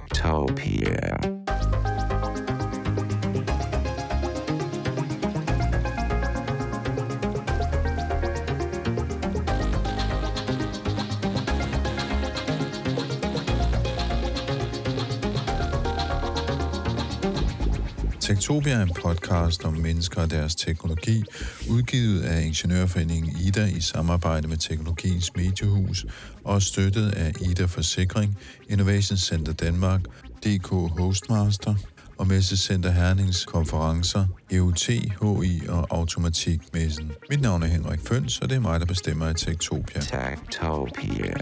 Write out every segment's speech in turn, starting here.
Techtopia. Techtopia er en podcast om mennesker og deres teknologi, udgivet af Ingeniørforeningen IDA i samarbejde med Teknologiens Mediehus og støttet af IDA Forsikring, Innovation Center Danmark, DK Hostmaster og Messecenter Hernings konferencer, EUT, HI og Automatikmessen. Mit navn er Henrik Føns, og det er mig, der bestemmer i Techtopia. Techtopia.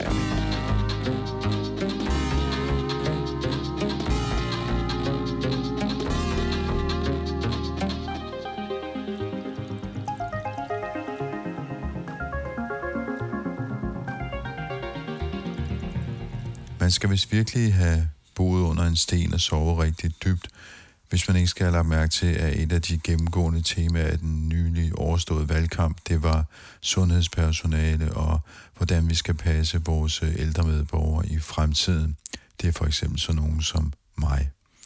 Man skal vist virkelig have boet under en sten og sovet rigtig dybt, hvis man ikke skal have lagt mærke til, at et af de gennemgående temaer af den nylig overståede valgkamp, det var sundhedspersonale og hvordan vi skal passe vores ældre medborgere i fremtiden. Det er for eksempel sådan nogen som mig.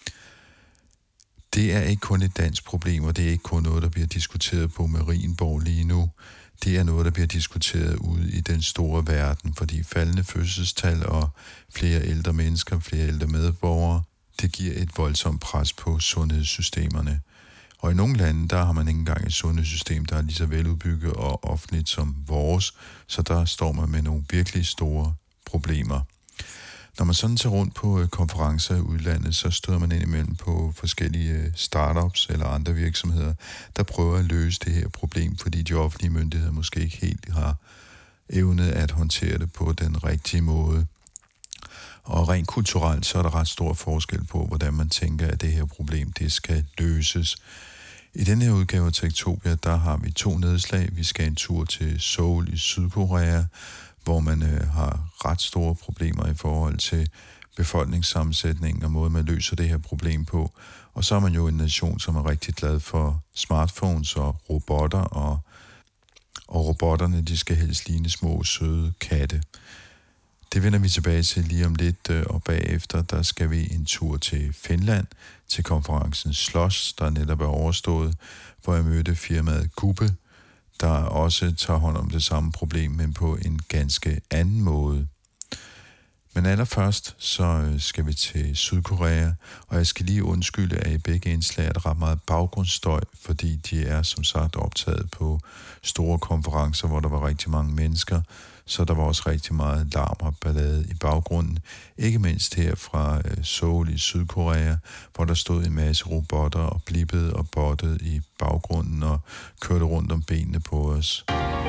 Det er ikke kun et dansk problem, og det er ikke kun noget, der bliver diskuteret på Marienborg lige nu. Det er noget, der bliver diskuteret ude i den store verden, fordi faldende fødselstal og flere ældre mennesker, flere ældre medborgere, det giver et voldsomt pres på sundhedssystemerne. Og i nogle lande, der har man ikke engang et sundhedssystem, der er lige så veludbygget og offentligt som vores, så der står man med nogle virkelig store problemer. Når man sådan tager rundt på konferencer i udlandet, så støder man indimellem på forskellige startups eller andre virksomheder, der prøver at løse det her problem, fordi de offentlige myndigheder måske ikke helt har evnet at håndtere det på den rigtige måde. Og rent kulturelt, så er der ret stor forskel på, hvordan man tænker, at det her problem, det skal løses. I den her udgave af Techtopia, der har vi 2 nedslag. Vi skal en tur til Seoul i Sydkorea, hvor man har ret store problemer i forhold til befolkningssammensætningen og måden, man løser det her problem på. Og så er man jo en nation, som er rigtig glad for smartphones og robotter, og robotterne, de skal helst ligne små, søde katte. Det vender vi tilbage til lige om lidt, og bagefter, der skal vi en tur til Finland, til konferencen Schloss, der netop er overstået, hvor jeg mødte firmaet Gubbe, der også tager hånd om det samme problem, men på en ganske anden måde. Men allerførst, så skal vi til Sydkorea, og jeg skal lige undskylde, at i begge indslag er der ret meget baggrundsstøj, fordi de er som sagt optaget på store konferencer, hvor der var rigtig mange mennesker, så der var også rigtig meget larm og ballade i baggrunden. Ikke mindst her fra Seoul i Sydkorea, hvor der stod en masse robotter og blippede og bottede i baggrunden og kørte rundt om benene på os.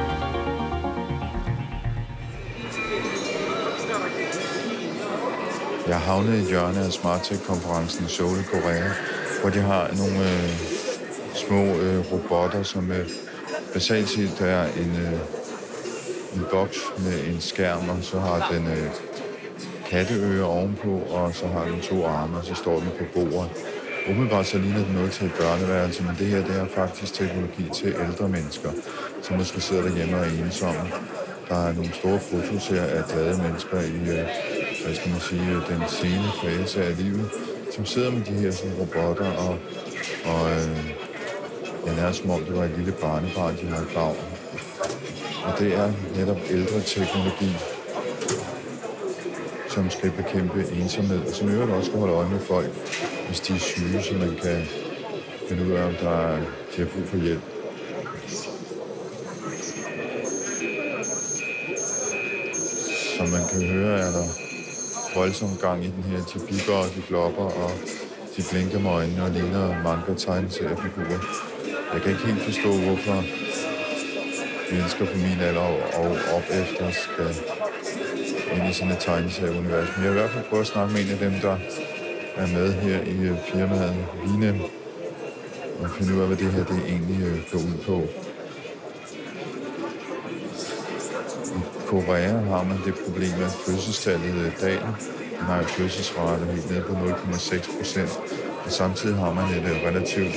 Jeg havnede i et hjørne af SmartTech-konferencen i Seoul i Korea, hvor de har nogle små robotter, som basalt set er en boks med en skærm, og så har den katteører ovenpå, og så har den 2 arme, og så står den på bordet. Umiddelbart så ligner den noget til et børneværelse, men det her, det er faktisk teknologi til ældre mennesker, som måske sidder derhjemme og er ensomme. Der er nogle store fotos her af glade mennesker i, hvad skal man sige, den sene fase af livet, som sidder med de her sådan, robotter, og det er som om det var et lille barnebarn, de har i favn. Og det er netop ældre teknologi, som skal bekæmpe ensomhed, og som i øvrigt også skal holde øje med folk, hvis de er syge, så man kan finde ud af, om de har brug for hjælp. Som man kan høre, er der voldsom gang i den her. De bipper og de glopper, og de blinker med øjnene og ligner mange tegneseriefigurer. Jeg kan ikke helt forstå, hvorfor mennesker på min alder og op efter skal ind i sådan et tegneserieunivers. Men jeg vil i hvert fald prøve at snakke med en af dem, der er med her i firmaet Vinem, og finde ud af, hvad det her det egentlig går ud på. I Korea har man det problem, at fødselstallet dagen. Man har jo fødselsrate helt ned på 0,6%, og samtidig har man et relativt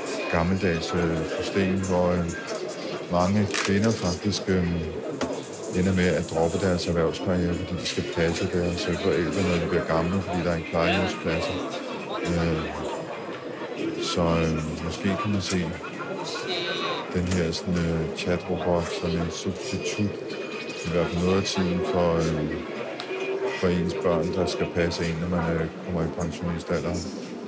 gammeldags system, hvor mange kvinder faktisk ender med at droppe deres erhvervskarriere, fordi de skal passe deres forældre, når de bliver gamle, fordi der er ikke plejehjemspladser. Så måske kan man se den her chatrobot som en substitut, i hvert fald noget af tiden for ens børn, der skal passe ind, når man kommer i pensionistalderen.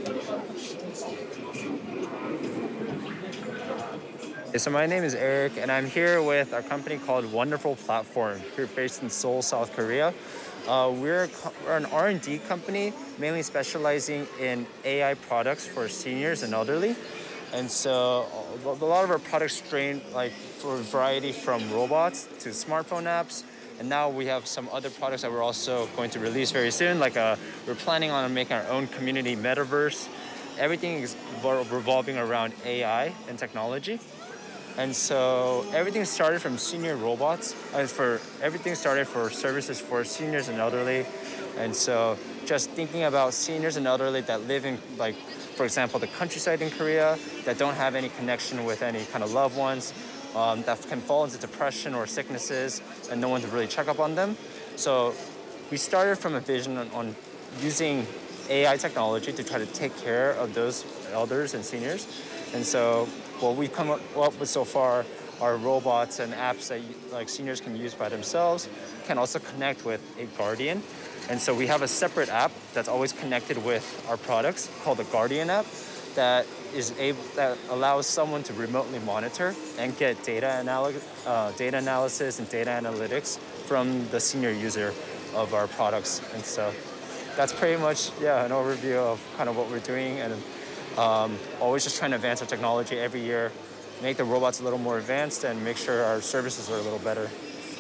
So my name is Eric, and I'm here with a company called Wonderful Platform. We're based in Seoul, South Korea. We're an R&D company, mainly specializing in AI products for seniors and elderly. And so a lot of our products range for a variety from robots to smartphone apps. And now we have some other products that we're also going to release very soon. We're planning on making our own community metaverse. Everything is revolving around AI and technology. And so everything started from senior robots. Everything started for services for seniors and elderly. And so just thinking about seniors and elderly that live in, for example, the countryside in Korea, that don't have any connection with any kind of loved ones, that can fall into depression or sicknesses, and no one to really check up on them. So we started from a vision on using AI technology to try to take care of those elders and seniors. And so what we've come up with so far are robots and apps that seniors can use by themselves, can also connect with a guardian. And so we have a separate app that's always connected with our products called the Guardian app that allows someone to remotely monitor and get data analysis and data analytics from the senior user of our products. And so that's pretty much an overview of kind of what we're doing, and always just trying to advance our technology every year, make the robots a little more advanced, and make sure our services are a little better.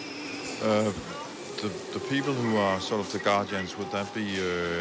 The people who are sort of the guardians, would that be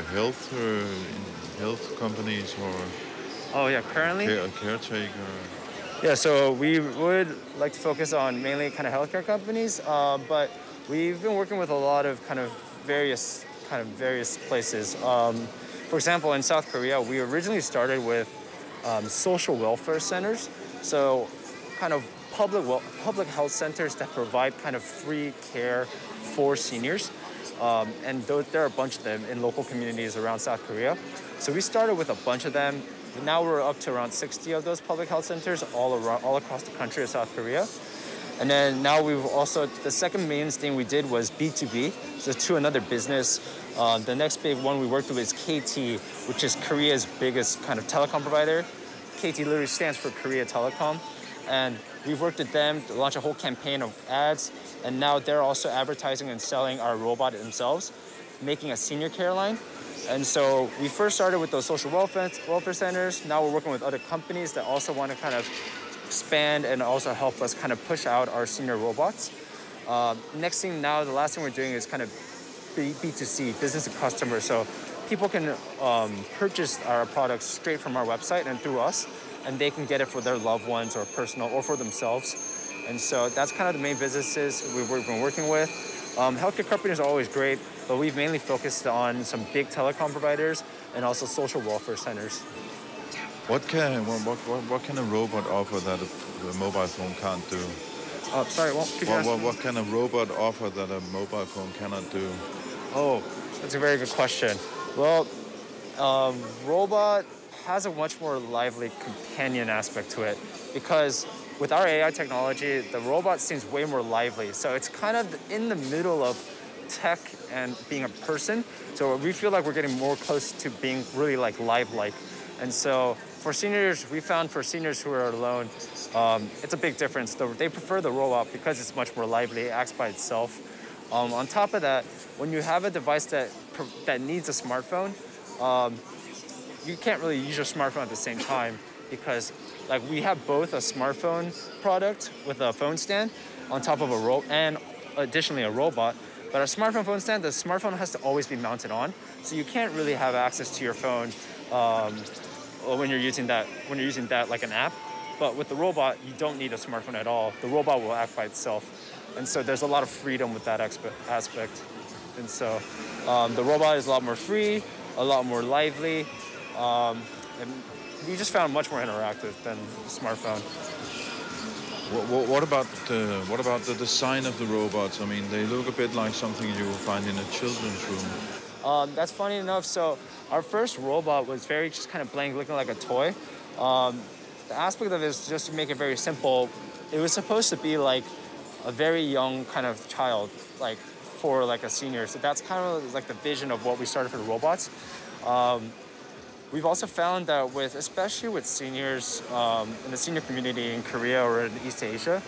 health companies or? Oh yeah, currently? Caretaker. Yeah, so we would like to focus on mainly kind of healthcare companies, but we've been working with a lot of various places. For example, in South Korea, we originally started with social welfare centers, so kind of public health centers that provide kind of free care for seniors. And there are a bunch of them in local communities around South Korea. So we started with a bunch of them. Now we're up to around 60 of those public health centers all across the country of South Korea. And then now the second main thing we did was B2B, so to another business. The next big one we worked with is KT, which is Korea's biggest kind of telecom provider. KT literally stands for Korea Telecom. And we've worked with them to launch a whole campaign of ads. And now they're also advertising and selling our robot themselves, making a senior care line. And so we first started with those social welfare centers. Now we're working with other companies that also want to kind of expand and also help us kind of push out our senior robots. The last thing we're doing is kind of B2C, business to customer. So people can purchase our products straight from our website and through us, and they can get it for their loved ones or personal or for themselves. And so that's kind of the main businesses we've been working with. Healthcare companies are always great, but we've mainly focused on some big telecom providers and also social welfare centers. What can a robot offer that a mobile phone can't do? Sorry, could you ask me? What can a robot offer that a mobile phone cannot do? Oh, that's a very good question. Well, robot has a much more lively companion aspect to it, because with our AI technology, the robot seems way more lively. So it's kind of in the middle of tech and being a person. So we feel like we're getting more close to being really live-like. And so for seniors who are alone, it's a big difference. They prefer the robot because it's much more lively, it acts by itself. On top of that, when you have a device that needs a smartphone, you can't really use your smartphone at the same time, because we have both a smartphone product with a phone stand on top of and additionally a robot. But our smartphone phone stand, the smartphone has to always be mounted on, so you can't really have access to your phone when you're using that like an app. But with the robot, you don't need a smartphone at all. The robot will act by itself. And so there's a lot of freedom with that aspect. And so the robot is a lot more free, a lot more lively, and we just found much more interactive than the smartphone. What about the design of the robots? I mean, they look a bit like something you will find in a children's room. That's funny enough. So our first robot was very just kind of blank, looking like a toy. The aspect of it is just to make it very simple. It was supposed to be like a very young kind of child, like for like a senior. So that's kind of like the vision of what we started for the robots. We've also found that especially with seniors in the senior community in Korea or in East Asia,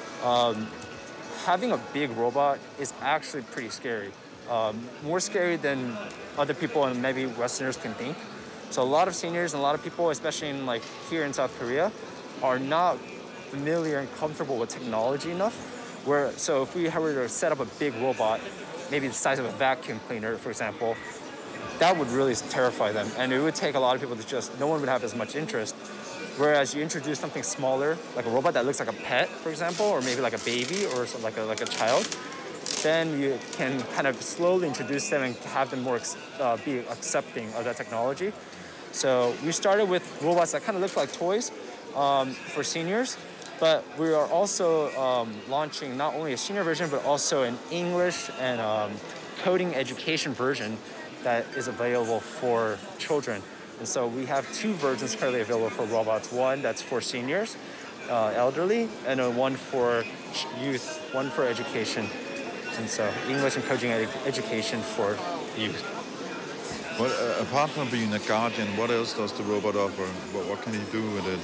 having a big robot is actually pretty scary. More scary than other people and maybe Westerners can think. So a lot of seniors and a lot of people, especially in like here in South Korea, are not familiar and comfortable with technology enough. So if we were to set up a big robot, maybe the size of a vacuum cleaner, for example, that would really terrify them. And it would take a lot of people no one would have as much interest. Whereas you introduce something smaller, like a robot that looks like a pet, for example, or maybe like a baby or like a child, then you can kind of slowly introduce them and have them be accepting of that technology. So we started with robots that kind of look like toys for seniors, but we are also launching not only a senior version, but also an English and coding education version that is available for children. And so we have two versions currently available for robots. One that's for seniors, elderly, and one for youth, one for education. And so English and coding education for youth. Well, apart from being a guardian, what else does the robot offer? What can you do with it?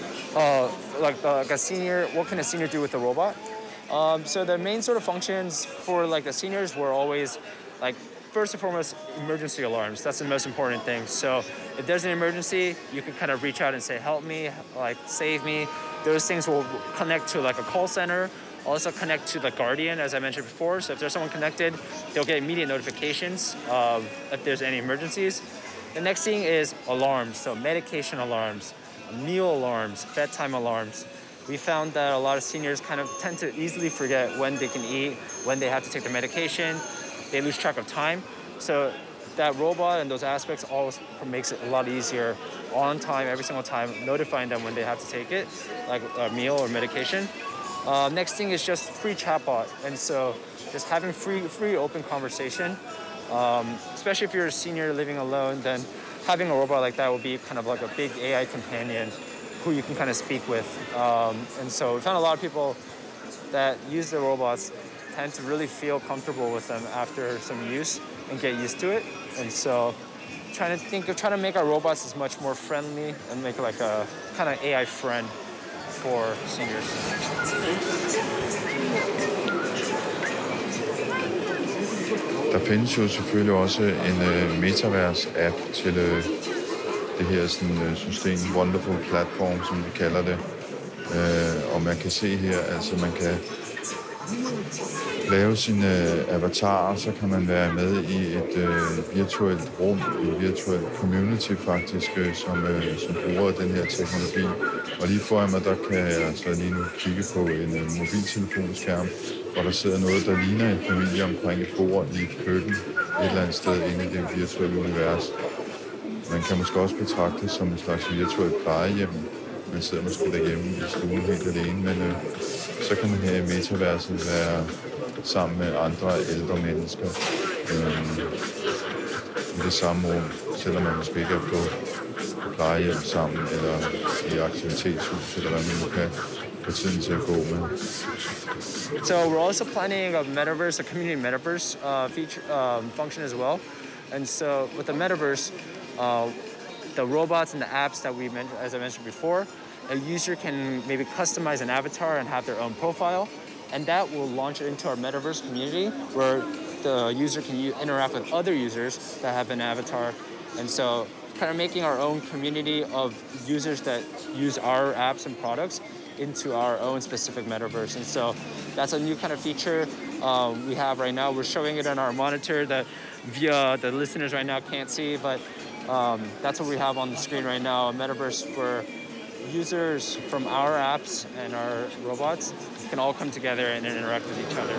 Like a senior, what can a senior do with the robot? So the main sort of functions for like the seniors were always like, first and foremost, emergency alarms. That's the most important thing. So if there's an emergency, you can kind of reach out and say, help me, like save me. Those things will connect to like a call center, also connect to the guardian, as I mentioned before. So if there's someone connected, they'll get immediate notifications if there's any emergencies. The next thing is alarms. So medication alarms, meal alarms, bedtime alarms. We found that a lot of seniors kind of tend to easily forget when they can eat, when they have to take their medication. They lose track of time. So that robot and those aspects always makes it a lot easier on time, every single time, notifying them when they have to take it, like a meal or medication. Next thing is just free chatbot. And so just having free open conversation, especially if you're a senior living alone, then having a robot like that will be kind of like a big AI companion who you can kind of speak with. And so we found a lot of people that use the robots tend to really feel comfortable with them after some use and get used to it. And so trying to make our robots as much more friendly and make like a kind of AI friend for seniors. Der findes jo selvfølgelig også en Metaverse-app til det her sådan, system, Wonderful Platform, som vi kalder det. Og man kan se her, altså man kan lave sine avatarer, så kan man være med i et virtuelt rum, et virtuelt community faktisk, som bruger den her teknologi. Og lige foran mig, der kan jeg så lige nu kigge på en mobiltelefonskærm, hvor der sidder noget, der ligner en familie omkring et bord i et køkken et eller andet sted inde i det virtuelle univers. Man kan måske også betragte det som en slags virtuelt plejehjem. Man sidder måske derhjemme i stuen helt alene, men så kan man her i metaverset være sammen med andre ældre mennesker i det samme rum, selvom man måske ikke er på plejehjem sammen, eller i aktivitetshus, eller hvad man nu kan få tiden til at gå med. So we're also planning a metaverse, a community metaverse function as well. And so with the metaverse, the robots and the apps that we mentioned, as I mentioned before, a user can maybe customize an avatar and have their own profile, and that will launch it into our metaverse community where the user can interact with other users that have an avatar. And so kind of making our own community of users that use our apps and products into our own specific metaverse. And so that's a new kind of feature we have right now. We're showing it on our monitor that the listeners right now can't see, but that's what we have on the screen right now, a metaverse where users from our apps and our robots can all come together and interact with each other.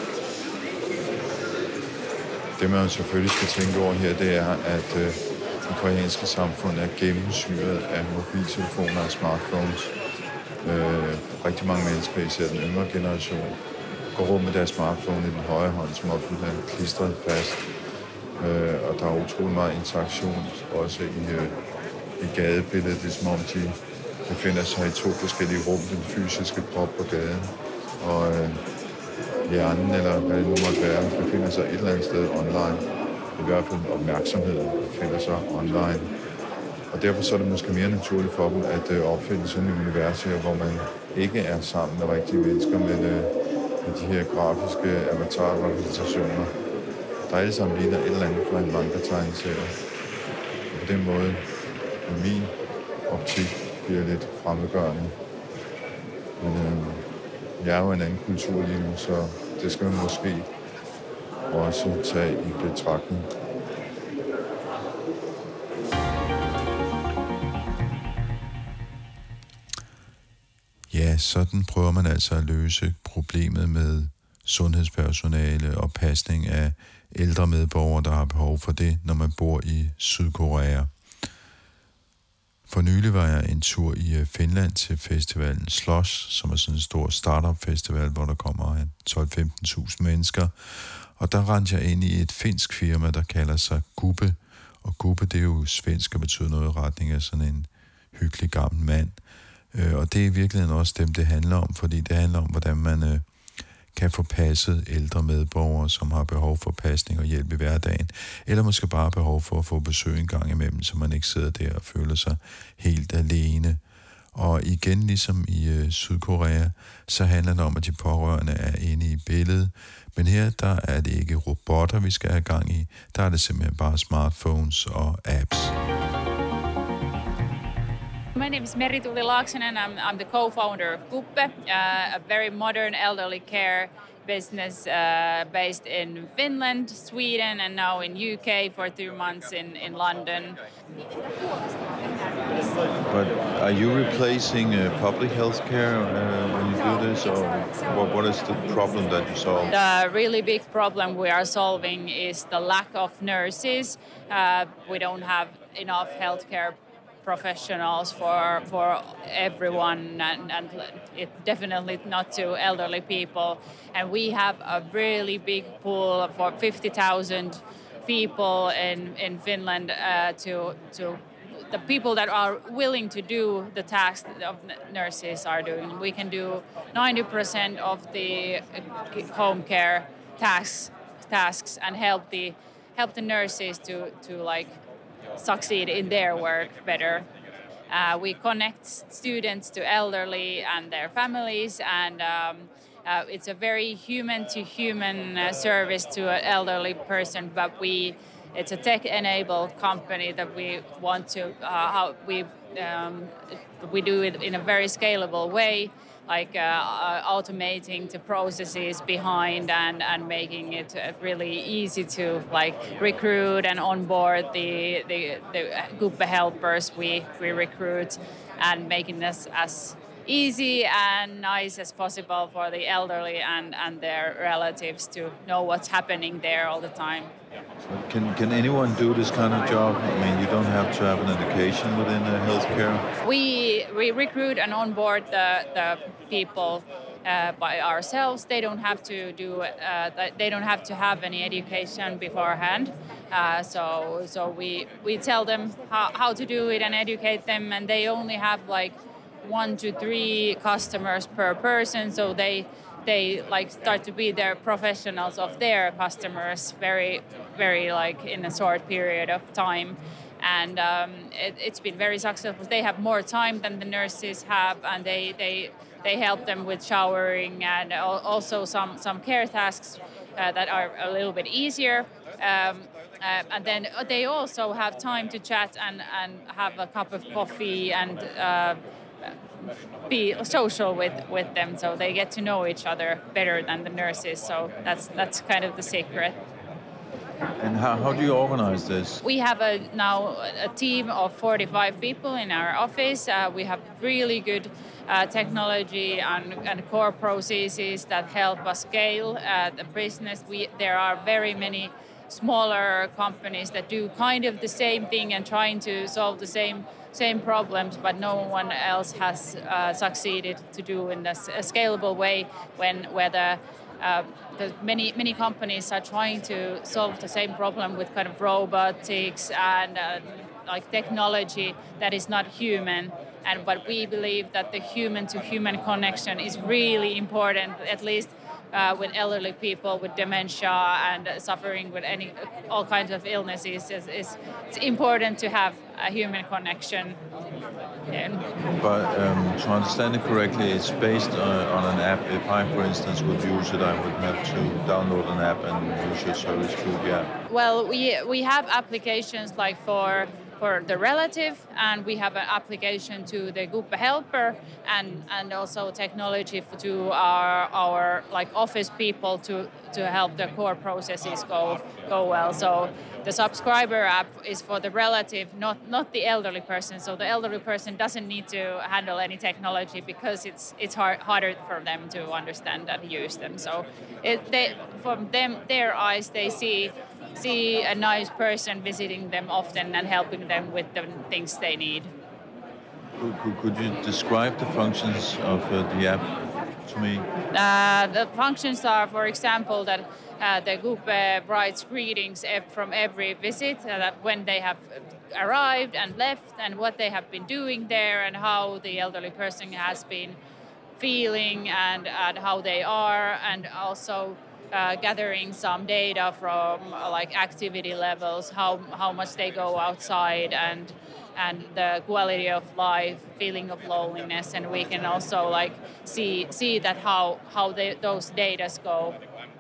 Det man selvfølgelig skal tænke over her, det er, at det koreanske samfund er gennemsyret af mobiltelefoner og smartphones. Rigtig mange mennesker, især den yngre generation, går rundt med deres smartphone i den højre hånd, som om den er klistret fast. Og der er utrolig meget interaktion også i gadebilledet. Det er som om de befinder sig i to forskellige rum, den fysiske krop på gaden. Og hjernen, eller hvad det nu måtte være, befinder sig et eller andet sted online. I hvert fald opmærksomheden befinder sig online. Og derfor så er det måske mere naturligt for dem at opfinde sådan et univers her, hvor man ikke er sammen med rigtige mennesker, men med de her grafiske avatar-repræsentationer, der alle sammen ligner et eller andet fra en manga-tegneserie. Og på den måde, i min optik, bliver lidt fremmedgørende. Men jeg er jo en anden kultur lige nu, så det skal man måske også tage i betragtning. Ja, sådan prøver man altså at løse problemet med sundhedspersonale og pasning af ældre medborgere, der har behov for det, når man bor i Sydkorea. For nylig var jeg en tur i Finland til festivalen Slush, som er sådan en stor startup-festival, hvor der kommer 12-15.000 mennesker. Og der rendte jeg ind i et finsk firma, der kalder sig Gubbe. Og Gubbe, det er jo svensk og betyder noget i retning af sådan en hyggelig gammel mand. Og det er i virkeligheden også dem, det handler om, fordi det handler om, hvordan man kan få passet ældre medborgere, som har behov for pasning og hjælp i hverdagen, eller måske bare behov for at få besøg en gang imellem, så man ikke sidder der og føler sig helt alene. Og igen, ligesom i Sydkorea, så handler det om, at de pårørende er inde i billedet, men her, der er det ikke robotter, vi skal have gang i, der er det simpelthen bare smartphones og apps. My name is Meri-Tuuli Laaksonen. I'm the co-founder of Kuppe, a very modern elderly care business based in Finland, Sweden, and now in UK for 2 months in London. But are you replacing public health care when you do this, or what is the problem that you solve? The really big problem we are solving is the lack of nurses. We don't have enough healthcare professionals for everyone, and it definitely not to elderly people. And we have a really big pool for 50,000 people in Finland to the people that are willing to do the tasks of nurses are doing. We can do 90% of the home care tasks and help the nurses to like succeed in their work better. We connect students to elderly and their families, and it's a very human-to-human service to an elderly person, but it's a tech-enabled company that we want to we do it in a very scalable way, like automating the processes behind and making it really easy to like recruit and onboard the Kuppe helpers we recruit, and making this as easy and nice as possible for the elderly and their relatives to know what's happening there all the time. Can anyone do this kind of job? I mean, you don't have to have an education within healthcare. We recruit and onboard the people by ourselves. They don't have to do. They don't have to have any education beforehand. So we tell them how to do it and educate them, and they only have like 1 to 3 customers per person. So they like start to be their professionals of their customers very like in a short period of time, and it's been very successful. They have more time than the nurses have, and they help them with showering and also some care tasks that are a little bit easier. And then they also have time to chat and have a cup of coffee and be social with them, so they get to know each other better than the nurses. So that's kind of the secret. And how do you organize this? We have now a team of 45 people in our office. We have really good technology and core processes that help us scale the business. There are very many smaller companies that do kind of the same thing and trying to solve the same problems, but no one else has succeeded to do in a scalable way where the many companies are trying to solve the same problem with kind of robotics and like technology that is not human. But we believe that the human-to-human connection is really important, at least with elderly people with dementia and suffering with all kinds of illnesses. It's important to have a human connection. But to understand it correctly, it's based on an app. If I, for instance, would use it, I would have to download an app and use your service through the app. Well, we have applications like for the relative, and we have an application to the Guppe helper, and also technology to our like office people to help the core processes go well. So the subscriber app is for the relative, not the elderly person. So the elderly person doesn't need to handle any technology because it's harder for them to understand and use them. So from their eyes, they see a nice person visiting them often and helping them with the things they need. Could you describe the functions of the app to me? The functions are, for example, that the Guppe writes greetings from every visit, when they have arrived and left, and what they have been doing there, and how the elderly person has been feeling, and how they are, and also gathering some data from like activity levels, how much they go outside, and the quality of life, feeling of loneliness, and we can also like see that how those data go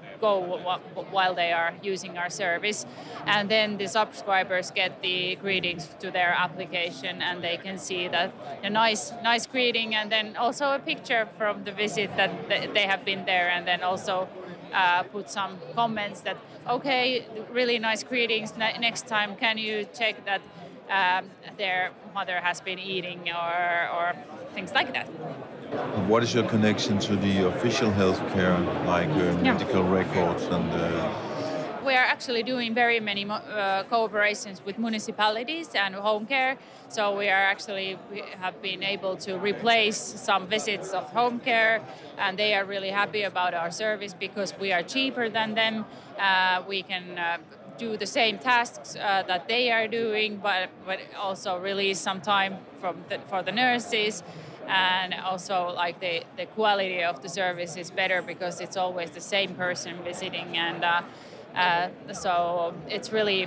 while they are using our service. And then the subscribers get the greetings to their application, and they can see that a nice greeting, and then also a picture from the visit that they have been there, and then also put some comments that, okay, really nice greetings, next time can you check that their mother has been eating, or things like that. What is your connection to the official healthcare, like medical records and? We are actually doing very many cooperations with municipalities and home care. So we have been able to replace some visits of home care, and they are really happy about our service because we are cheaper than them. We can do the same tasks that they are doing, but also release some time for the nurses. And also, like the quality of the service is better because it's always the same person visiting, and so it's really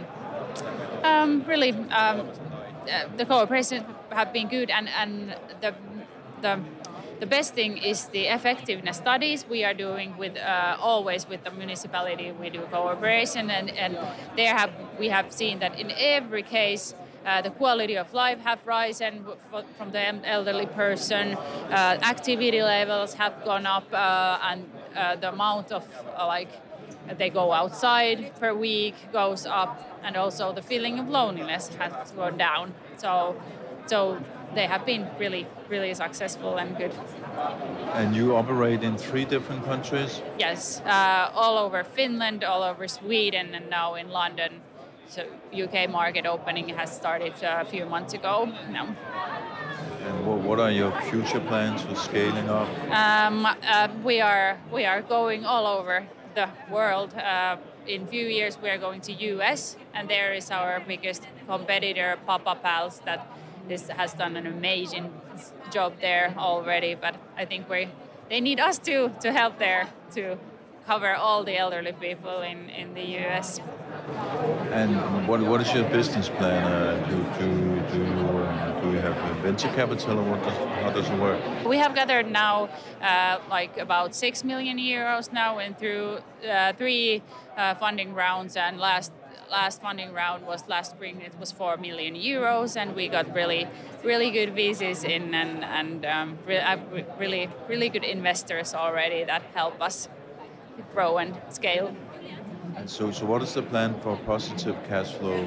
the cooperation have been good, and the best thing is the effectiveness studies we are doing with always with the municipality. We do cooperation, and we have seen that in every case. The quality of life have risen from the elderly person. Activity levels have gone up, and the amount of they go outside per week goes up, and also the feeling of loneliness has gone down. So they have been really, really successful and good. And you operate in 3 different countries? Yes, all over Finland, all over Sweden, and now in London. So UK market opening has started a few months ago now. And what are your future plans for scaling up? We are going all over the world. In a few years we are going to US, and there is our biggest competitor, Papa Pals, that this has done an amazing job there already. But I think they need us to help there to cover all the elderly people in the US. And what is your business plan? Do you have venture capital, or how does it work? We have gathered now like about 6 million euros now, and through 3 funding rounds, and last funding round was last spring. It was 4 million euros, and we got really good VCs in, and really good investors already that help us grow and scale. And so what is the plan for positive cash flow?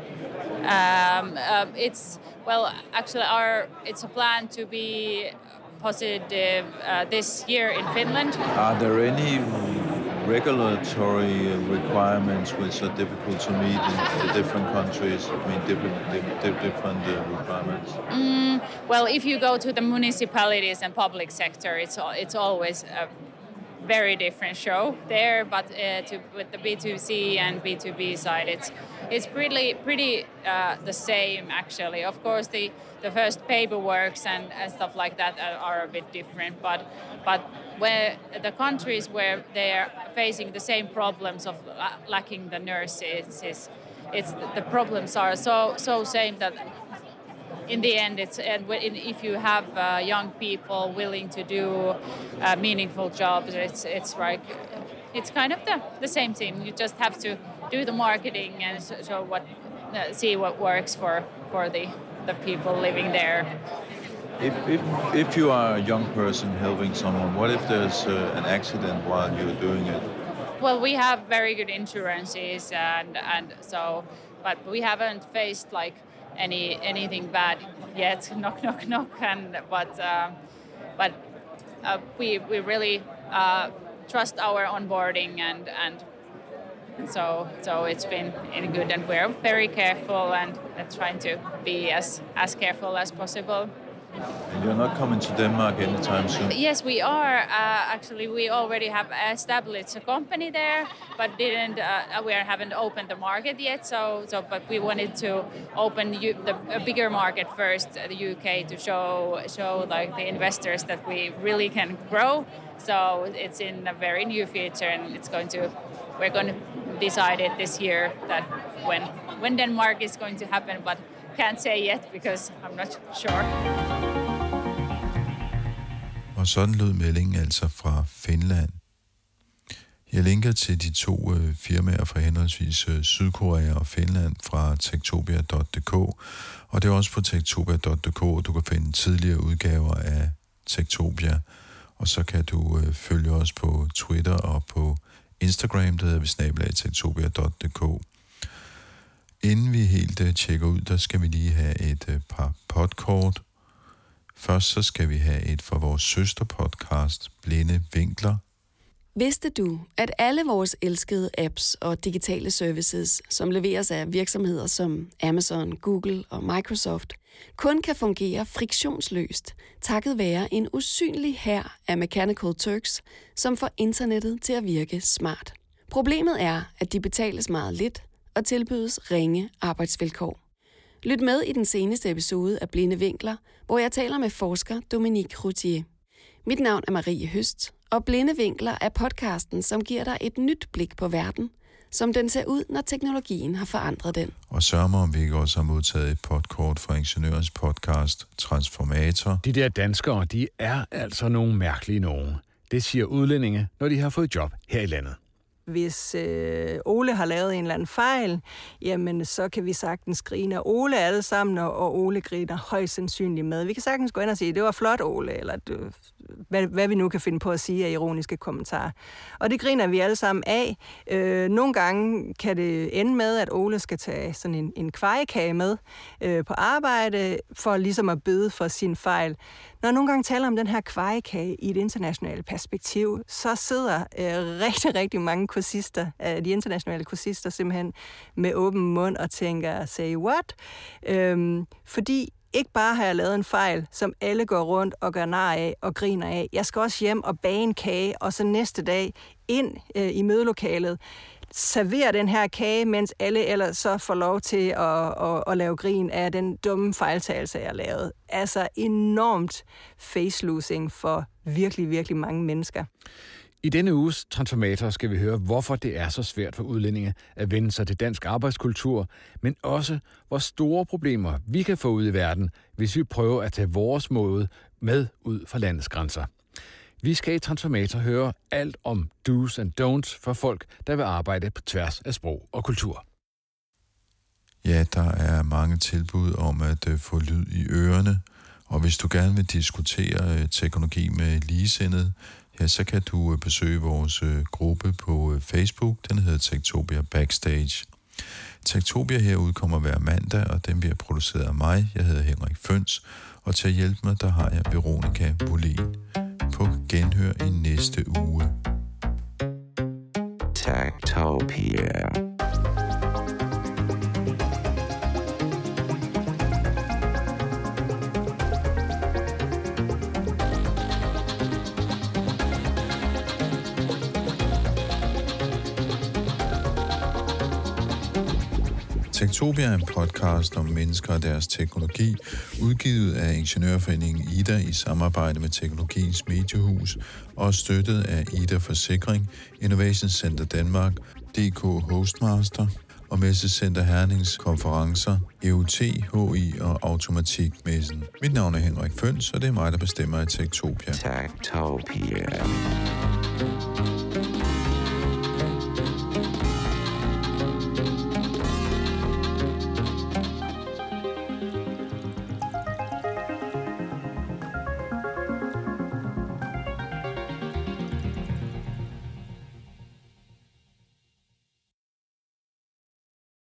It's a plan to be positive this year in Finland. Are there any regulatory requirements which are difficult to meet in the different countries? I mean, different requirements. Well, if you go to the municipalities and public sector, it's always a very different show there. But with the B2C and B2B side, it's pretty the same actually. Of course, the first paperworks and stuff like that are a bit different, but where the countries where they are facing the same problems of lacking the nurses, the problems are so same that in the end, if you have young people willing to do meaningful jobs, it's like it's kind of the same thing. You just have to do the marketing and see what works for the people living there. If you are a young person helping someone, what if there's an accident while you're doing it? Well, we have very good insurances, and so, but we haven't faced like anything bad yet. Knock knock knock. But we really trust our onboarding and so it's been good, and we're very careful and trying to be as careful as possible. And you're not coming to Denmark anytime soon? Yes, we are. Actually, we already have established a company there, but we haven't opened the market yet. But we wanted to open a bigger market first, the UK, to show like the investors that we really can grow. So it's in a very new future, and we're going to decide it this year that when Denmark is going to happen, but can't say yet because I'm not sure. Og sådan lød meldingen altså fra Finland. Jeg linker til de to firmaer fra henholdsvis Sydkorea og Finland fra techtopia.dk, og det er også på techtopia.dk, du kan finde tidligere udgaver af Techtopia, og så kan du følge os på Twitter og på Instagram, der hedder vi @techtopia.dk. Inden vi helt tjekker ud, der skal vi lige have et par podkort. Først så skal vi have et fra vores søsterpodcast, Blinde Vinkler. Vidste du, at alle vores elskede apps og digitale services, som leveres af virksomheder som Amazon, Google og Microsoft, kun kan fungere friktionsløst, takket være en usynlig hær af Mechanical Turks, som får internettet til at virke smart. Problemet er, at de betales meget lidt og tilbydes ringe arbejdsvilkår. Lyt med i den seneste episode af Blinde Vinkler, hvor jeg taler med forsker Dominique Routier. Mit navn er Marie Høst, og Blinde Vinkler er podcasten, som giver dig et nyt blik på verden, som den ser ud, når teknologien har forandret den. Og sørg mig, om vi ikke også har modtaget et podkort fra Ingeniørens podcast Transformator. De der danskere, de er altså nogle mærkelige nogen. Det siger udlændinge, når de har fået job her i landet. Hvis Ole har lavet en eller anden fejl, jamen så kan vi sagtens grine af Ole alle sammen, og Ole griner højst sandsynligt med. Vi kan sagtens gå ind og sige, det var flot, Ole, eller hvad vi nu kan finde på at sige af ironiske kommentarer. Og det griner vi alle sammen af. Nogle gange kan det ende med, at Ole skal tage sådan en kvejekage med på arbejde, for ligesom at bøde for sin fejl. Når jeg nogle gange taler om den her kvejekage i et internationalt perspektiv, så sidder rigtig, rigtig mange kursister, de internationale kursister, simpelthen med åben mund og tænker, say what? Fordi ikke bare har jeg lavet en fejl, som alle går rundt og gør nar af og griner af. Jeg skal også hjem og bage en kage, og så næste dag ind i mødelokalet, servere den her kage, mens alle ellers så får lov til at lave grin af den dumme fejltagelse, jeg lavede. Altså enormt face-losing for virkelig, virkelig mange mennesker. I denne uges Transformator skal vi høre, hvorfor det er så svært for udlændinge at vende sig til dansk arbejdskultur, men også, hvor store problemer vi kan få ud i verden, hvis vi prøver at tage vores måde med ud fra landets grænser. Vi skal i Transformator høre alt om do's and don'ts for folk, der vil arbejde på tværs af sprog og kultur. Ja, der er mange tilbud om at få lyd i ørerne, og hvis du gerne vil diskutere teknologi med ligesindede, ja, så kan du besøge vores gruppe på Facebook. Den hedder Techtopia Backstage. Techtopia her udkommer hver mandag, og den bliver produceret af mig. Jeg hedder Henrik Føns, og til at hjælpe mig, der har jeg Veronica Bolin. På genhør i næste uge. Techtopia er en podcast om mennesker og deres teknologi, udgivet af Ingeniørforeningen Ida i samarbejde med Teknologiens Mediehus og støttet af Ida Forsikring, Innovation Center Danmark, DK Hostmaster og Messecenter Hernings konferencer, EUT, HI og Automatikmessen. Mit navn er Henrik Føns, og det er mig, der bestemmer i Techtopia. Techtopia.